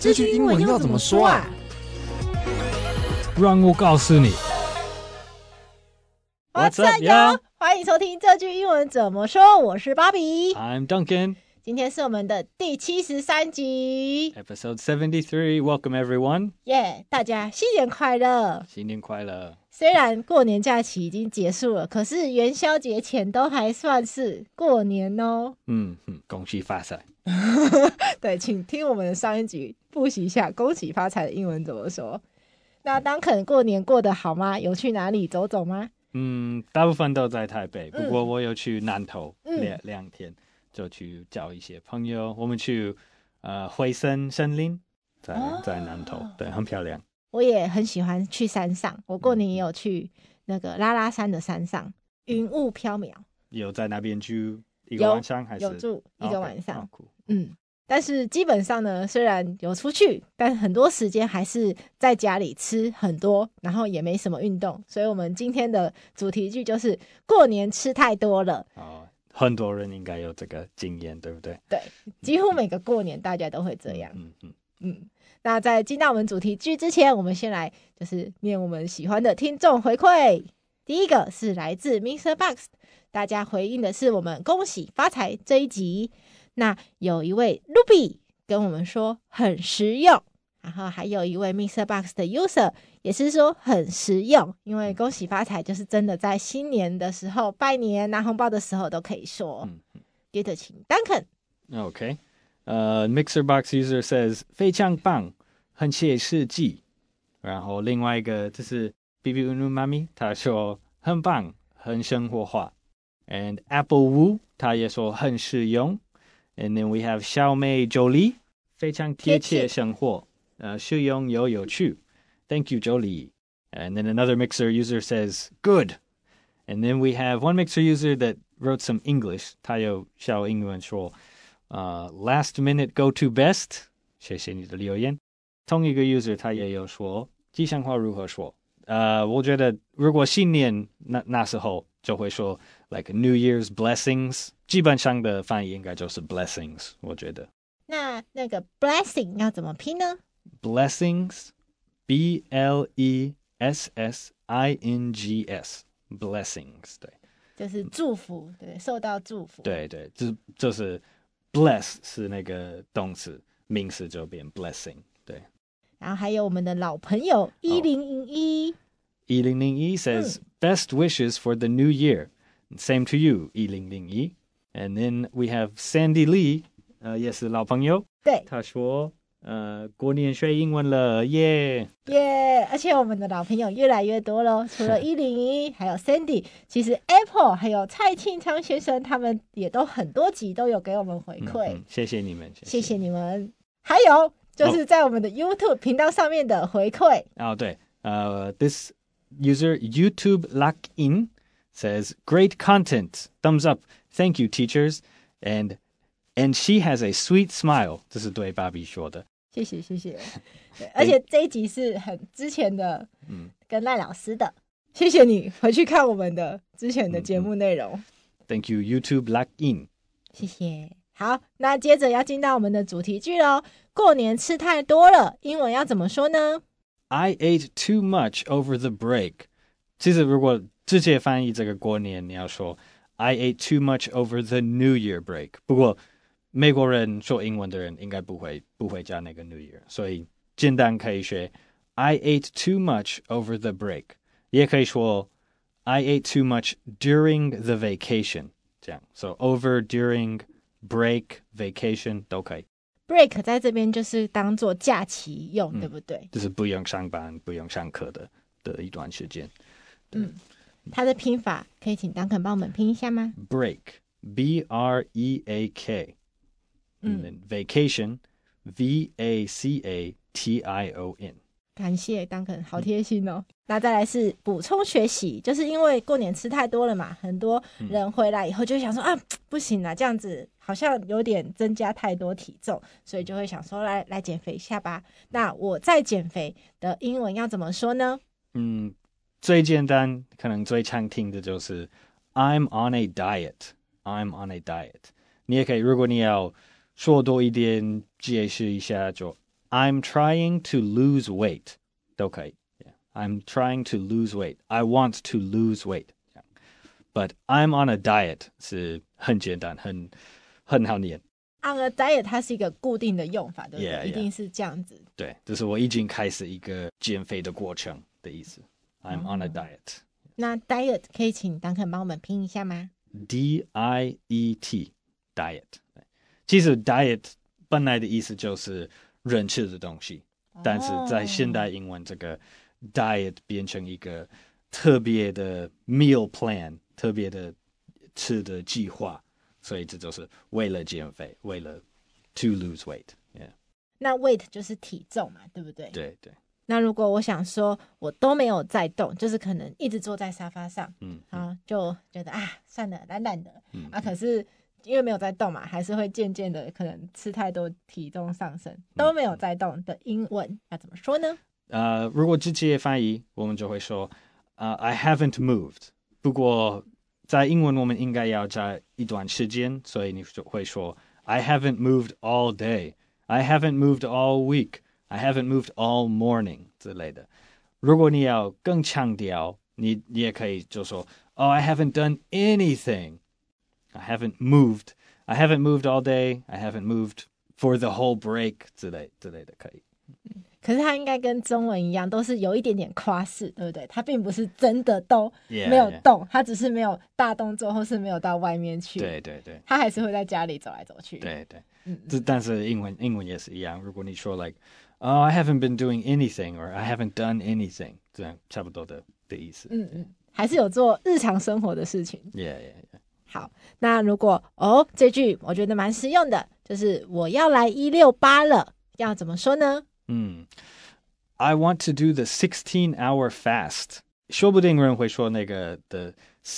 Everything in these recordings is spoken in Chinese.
這句英文要怎麼說啊？ 讓我告訴你。 What's up, y'all？ 歡迎收聽這句英文怎麼說。我是芭比 I'm Duncan。 今天是我們的第73集 Episode 73. Welcome everyone. 大家新年快樂！ 新年快樂！ 雖然過年假期已經結束了，可是元宵節前都還算是過年哦。 恭喜發財！ 對，請聽我們的上一集複習一下恭喜發財的英文怎麼說。那Duncan過年過得好嗎？有去哪裡走走嗎？ 大部分都在台北，不過我有去南投兩天，就去找一些朋友。我們去惠森森林，在南投，對，很漂亮。 我也很喜歡去山上，我過年也有去那個拉拉山的山上，雲霧飄渺。有在那邊住一個晚上還是？ 有住一個晚上。 Okay. 但是基本上呢，雖然有出去，但很多時間還是在家裡吃很多，然後也沒什麼運動。所以我們今天的主題句就是過年吃太多了。 很多人應該有這個經驗，對不對？ 對，幾乎每個過年大家都會這樣。那在進到我們主題句之前，我們先來就是念我們喜歡的聽眾回饋。第一個是來自 Mr. Box， 大家回應的是我們恭喜發財這一集。那有一位 Ruby 跟我們說很實用，然後還有一位 Mr. Box 的 user 也是說很實用，因為恭喜發財就是真的在新年的時候拜年拿紅包的時候都可以說。接着請 Duncan。 Mixer Box user says 非常棒，很切實際。然後另外一個就是 BB Unu Mami 他說很棒，很生活化。And Apple Wu 他也說很實用。And then we have 小美 Jolie 非常貼切生活，實用又有趣。Thank you, Jolie. And then another Mixer user says good. And then we have one Mixer user that wrote some English. 他有小英文說last minute go to best. 謝謝你的留言。同一個 user 他也有說吉祥話如何說。我覺得如果新年那時候就會說 like New Year's blessings， 基本上的翻譯應該就是 blessings， 我覺得。 那個 blessing 要怎麼拼呢？ Blessings B-L-E-S-S-I-N-G-S blessings， 對， 就是祝福，对，受到祝福。 對，就是 bless 是那個動詞，名詞就變 blessing， 對。 然後還有我們的老朋友1001 says best wishes for the new year. Same to you, 1001. And then we have Sandy Lee, 也是老朋友。对，他說過年學英文了，耶！ 而且我們的老朋友越來越多了，除了1001還有 Sandy， 其實 Apple 還有蔡慶昌先生他們也都很多集都有給我們回饋， 謝謝你們， 謝謝你們。還有就是在我們的 YouTube 頻道上面的回饋。 對，this user YouTube Lock-in says great content, thumbs up, thank you teachers, and she has a sweet smile. 這是對芭比說的。謝謝。對，而且這一集是很之前的，跟賴老師的。 謝謝你回去看我們的之前的節目內容。 Thank you YouTube Lock-in。 謝謝。好，那接着要進到我們的主題句咯。過年吃太多了，英文要怎麼說呢？ I ate too much over the break. 其實如果直接翻譯這個過年，你要說 I ate too much over the New Year break. 不過美國人說英文的人應該不會加那個 New Year， 所以簡單可以學 I ate too much over the break， 也可以說 I ate too much during the vacation， 這樣 So over, during, break, vacation 都可以。 break 在這邊就是當做假期用，對不對？ 就是不用上班、不用上課的一段時間。 它的拼法可以請Duncan幫我們拼一下嗎？ Break, B-R-E-A-K， and then vacation, V-A-C-A-T-I-O-N。 感謝Duncan，好貼心哦。那再來是補充學習，就是因為過年吃太多了嘛，很多人回來以後就會想說不行啦，這樣子好像有點增加太多體重，所以就會想說來減肥一下吧。那我在減肥的英文要怎麼說呢？ 最簡單，可能最常聽的就是 I'm on a diet. I'm on a diet. 你也可以，如果你要說多一點，解釋一下就 I'm trying to lose weight 都可以。I'm trying to lose weight. I want to lose weight. But I'm on a diet 是很簡單，很好念。 On a diet 它是一個固定的用法，對不對？ Yeah, 一定是這樣子。 對，這是我已經開始一個減肥的過程的意思。I'm on a diet. 那 diet 可以請Duncan幫我們拼一下嗎？ D-I-E-T diet。其實 diet 本來的意思就是人吃的東西，但是在現代英文這個 diet 變成一個特別的 meal plan， 特別的吃的計劃，所以這就是為了減肥，為了 to lose weight。Yeah. 那 weight 就是體重嘛，對不對？ 對對。 那如果我想說我都沒有在動，就是可能一直坐在沙發上，就覺得算了，懶懶的，可是因為沒有在動嘛，還是會漸漸的可能吃太多，體重上升，都沒有在動的英文要怎麼說呢？ 如果直接翻譯，我們就會說I haven't moved。不過在英文我們應該要加一段時間，所以你就會說 I haven't moved all day. I haven't moved all week. I haven't moved all morning 之類的。如果你要更強調，你也可以就說I haven't done anything. I haven't moved. I haven't moved all day. I haven't moved for the whole break 之類的可以。 可是它應該跟中文一樣，都是有一點點誇飾，對不對？它並不是真的都沒有動，它只是沒有大動作，或是沒有到外面去。 對对对， 它還是會在家裡走來走去。 對對，但是英文也是一樣。如果你說 I haven't been doing anything or I haven't done anything， 這樣差不多的意思。 還是有做日常生活的事情。 Yeah。 好，那如果這句我覺得蠻實用的，就是我要來168了，要怎麼說呢 ？I want to do the 16-hour fast。說不定人會說那個 the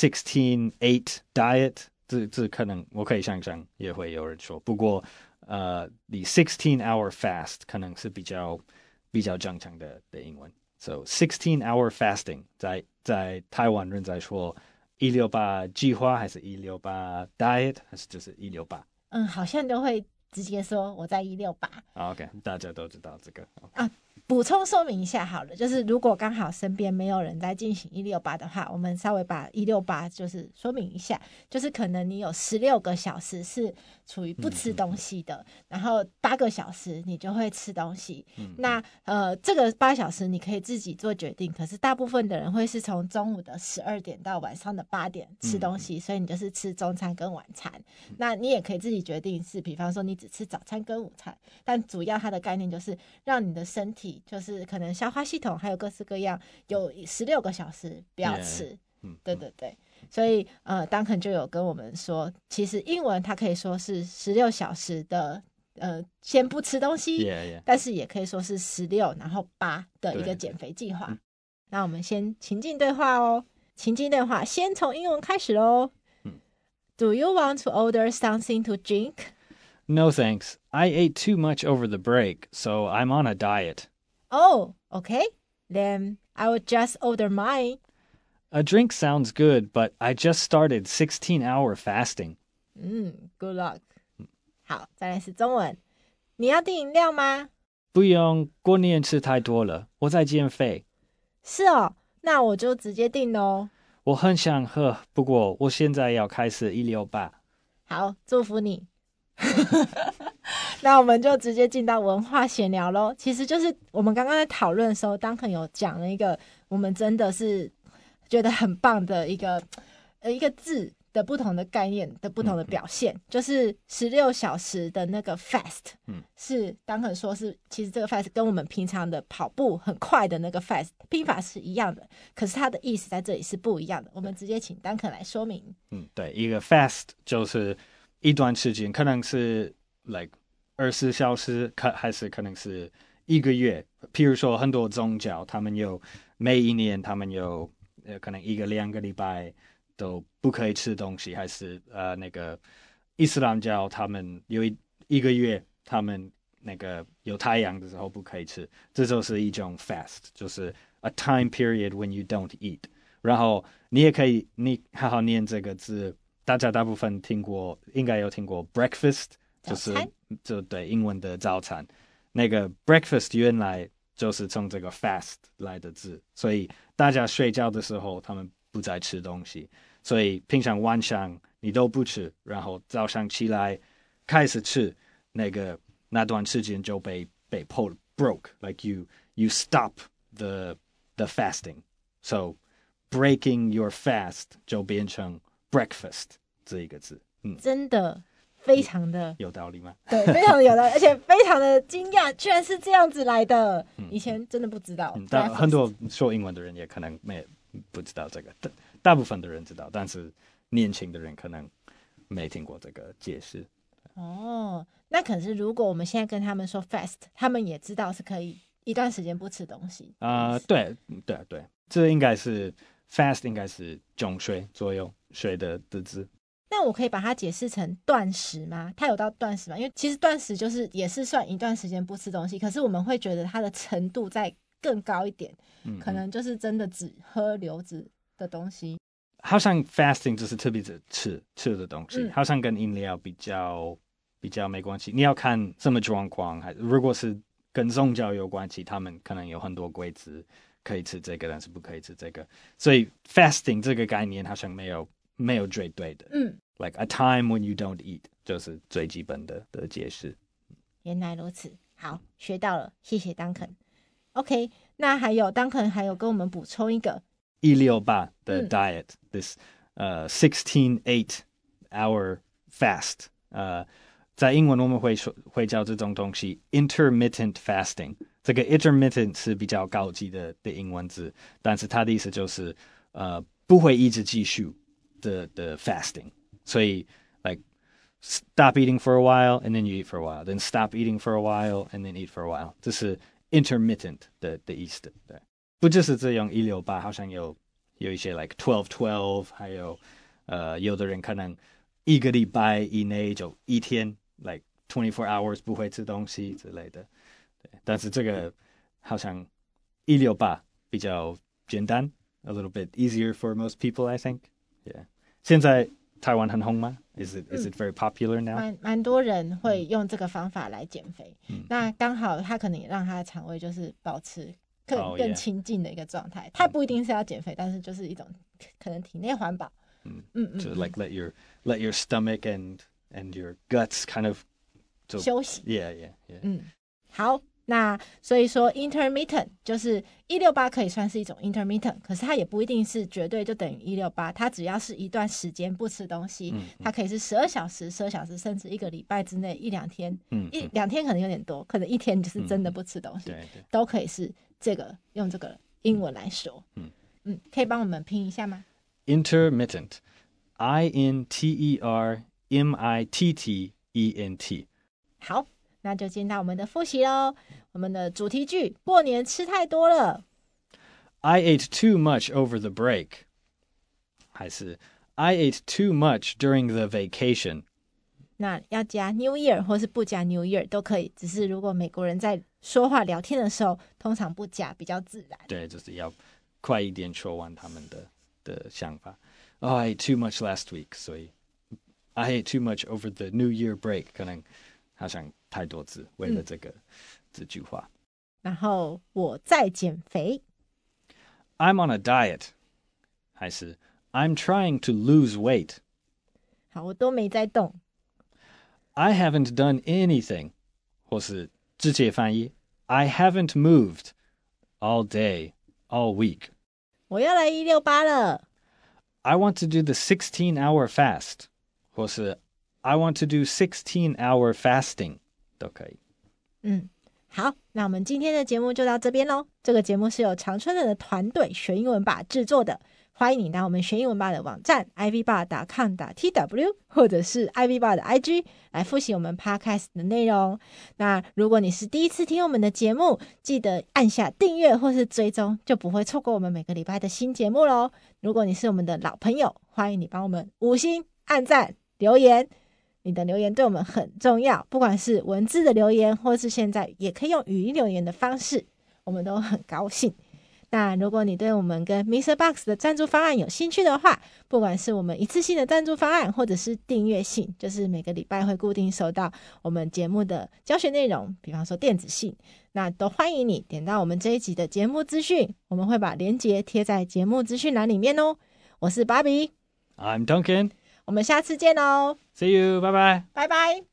16-8 diet， 這可能我可以想象也會有人說。不過the 16-hour fast 可能是比較正常的英文。So 16-hour fasting 在台灣人在說168計劃還是168 diet 還是就是168？ 好像都會直接說我在168。 OK， 大家都知道這個。 補充說明一下好了，就是如果剛好身邊沒有人在進行168的話，我們稍微把168就是說明一下，就是可能你有16個小時是處於不吃東西的，然後8個小時你就會吃東西。那這個8小時你可以自己做決定，可是大部分的人會是從中午的12點到晚上的8點吃東西，所以你就是吃中餐跟晚餐。那你也可以自己決定是，比方說你只吃早餐跟午餐，但主要它的概念就是讓你的身體就是可能消化系統還有各式各樣有16個小時不要吃。對对对，所以Duncan就有跟我們說，其實英文它可以說是16小時的先不吃東西，但是也可以說是16然後8的一個減肥計劃。那我們先情境對話哦，情境對話先從英文開始咯。Do you want to order something to drink? No thanks. I ate too much over the break, so I'm on a diet. Oh, okay. Then I will just order mine. A drink sounds good, but I just started 16-hour fasting. Good luck. 好，再來是中文。你要訂飲料嗎？ 不用，過年吃太多了，我在減肥。 是哦，那我就直接訂咯。 我很想喝，不過我現在要開始168。 好，祝福你。那我們就直接進到文化閒聊咯。其實就是我們剛剛在討論的時候，Duncan有講了一個我們真的是覺得很棒的一個字的不同的概念的不同的表現，就是16小時的那個 fast，是Duncan說是其實這個 fast 跟我們平常的跑步很快的那個 fast 拼法是一樣的，可是它的意思在這裡是不一樣的。我們直接請Duncan來說明。 對，一個 fast 就是一段時間，可能是 24小時，還是可能是1個月。譬如說很多宗教，他們有每一年他們有可能1個2個禮拜都不可以吃東西，還是那個伊斯蘭教他們有一個月他們那個有太陽的時候不可以吃，這就是一種 fast， 就是 a time period when you don't eat。然後你也可以你好好念這個字，大家大部分應該有聽過 breakfast， 就是就對英文的早餐。 那個 breakfast 原來就是從這個 fast 來的字，所以大家睡覺的時候他們不再吃東西，所以平常晚上你都不吃，然後早上起來開始吃，那段時間就被broke, like you stop the fasting, so breaking your fast 就變成 breakfast 這一個字。 真的非常的有道理嗎？ 對，非常的有道理，而且非常的驚訝，居然是這樣子來的。以前真的不知道。 但很多說英文的人也可能不知道這個，大部分的人知道，但是年輕的人可能沒聽過這個解釋。哦， 那可是如果我們現在跟他們說 fast， 他們也知道是可以一段時間不吃東西。 對，這應該是 fast， 應該是中睡左右睡的字。 那我可以把它解釋成斷食嗎？它有到斷食嗎？因為其實斷食就是也是算一段時間不吃東西，可是我們會覺得它的程度再更高一點，可能就是真的只喝流質的東西。 好像 fasting 就是特別是吃的東西，好像跟飲料比較沒關係。你要看什麼狀況，如果是跟宗教有關係，他們可能有很多規則，可以吃這個，但是不可以吃這個。所以 fasting 這個概念好像沒有絕對的。Like a time when you don't eat 就是最基本的解釋。 原來如此，好，學到了，謝謝 Duncan。OK， 那還有 Duncan 還有跟我們補充一個 168的 diet，this 16-8 hour fast。在英文我們會叫這種東西 intermittent fasting。這個 intermittent 是比較高級的英文字，但是它的意思就是不會一直繼續的 fasting。所以 like stop eating for a while and then you eat for a while, then stop eating for a while and then eat for a while. 這是 intermittent 的意思。對，不就是這樣168，好像有一些 like 12-12，還有有的人可能一個禮拜以內就一天 like 24 hours 不會吃東西之類的。對，但是這個好像168比較簡單 ，a little bit easier for most people, I think. Yeah， 現在台灣很紅嗎？ Is it very popular now？ 蠻多人會用這個方法來減肥。那剛好他可能也讓他的腸胃就是保持更清淨的一個狀態。他不一定是要減肥，但是就是一種可能體內環保。 So like let your stomach and your guts kind of 休息。 Yeah. 好。那所以說 intermittent 就是168可以算是一種 intermittent， 可是它也不一定是絕對就等於168，它只要是一段時間不吃東西，它可以是12小時，甚至一個禮拜之內1-2天，2天可能有點多，可能1天就是真的不吃東西，都可以是用這個英文來說。可以幫我們拼一下嗎？ Intermittent INTERMITTENT。 好，那就進到我們的複習咯。我們的主題句，過年吃太多了。 I ate too much over the break。 還是 I ate too much during the vacation。 那要加 New Year 或是不加 New Year 都可以，只是如果美國人在說話聊天的時候，通常不加比較自然。 對，就是要快一點說完他們的想法。Oh, I ate too much last week， 所以 I ate too much over the New Year break， 可能好像太多字，為了這句話。 然後我在減肥。 I'm on a diet， 還是 I'm trying to lose weight。 好，我都沒在動。 I haven't done anything， 或是直接翻譯 I haven't moved all day, all week。 我要來168了。 I want to do the 16-hour fast， 或是 I want to do 16-hour fasting， 都可以。 好，那我們今天的節目就到這邊咯。這個節目是由常春藤的團隊學英文吧製作的。歡迎你到我們學英文吧的網站 ivbar.com.tw 或者是 ivbar 的 IG 來複習我們 podcast 的內容。那如果你是第一次聽我們的節目，記得按下訂閱或是追蹤，就不會錯過我們每個禮拜的新節目咯。如果你是我們的老朋友，歡迎你幫我們5星按讚留言。你的留言對我們很重要，不管是文字的留言，或是現在也可以用語音留言的方式，我們都很高興。 那如果你對我們跟 MixerBox 的贊助方案有興趣的話，不管是我們一次性的贊助方案，或者是訂閱信，就是每個禮拜會固定收到我們節目的教學內容，比方說電子信，那都歡迎你點到我們這一集的節目資訊，我們會把連結貼在節目資訊欄裡面哦。我是 Barbie，I'm Duncan， 我們下次見哦 ，See you， 拜拜， 拜拜。